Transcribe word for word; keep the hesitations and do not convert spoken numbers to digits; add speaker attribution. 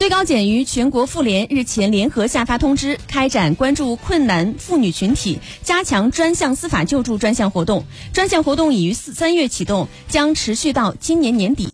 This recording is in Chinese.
Speaker 1: 最高检与全国妇联日前联合下发通知，开展关注困难妇女群体、加强专项司法救助专项活动。专项活动已于三月启动，将持续到今年年底。